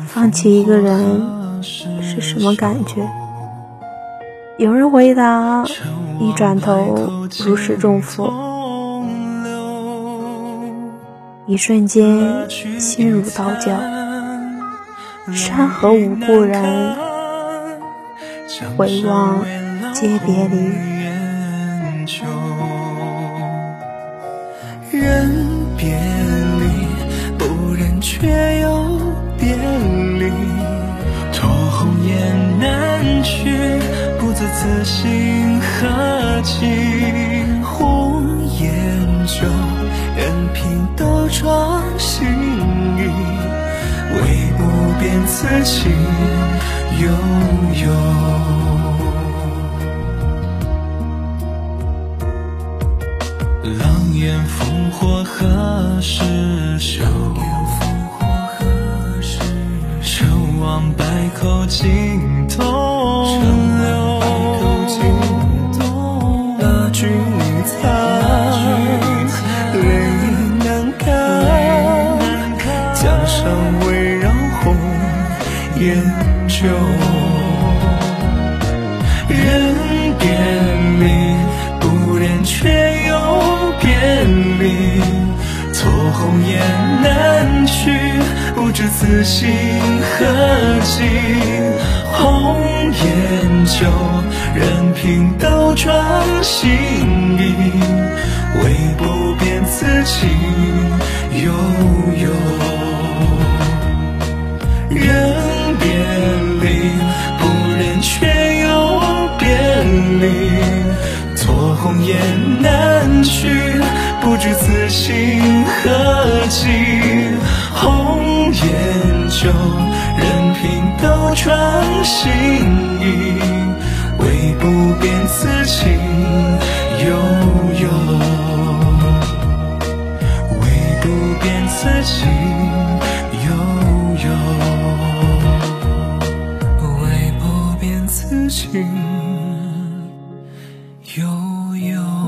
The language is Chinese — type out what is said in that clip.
放弃一个人是什么感觉？有人回答，一转头如释重负，一瞬间心如刀绞。山河无故人，回望皆别离。 人别离，不忍却又别离，托红颜难去，不知此心何寄。红颜旧，任凭斗转星移，唯不变此情悠悠。狼烟烽火何时休？守望百口尽东流。那君苍，泪难干，江上围绕红颜旧。人别离，不忍却又别离，错红颜难去，不知此心何寄。红颜旧，任凭斗转星移，唯不变此情悠悠。人别离，不忍却又别离，错红颜难去，不知此心何寄。红颜旧，任凭斗转星移，唯不变此情悠悠。唯不变此情悠悠。唯不变此情悠悠。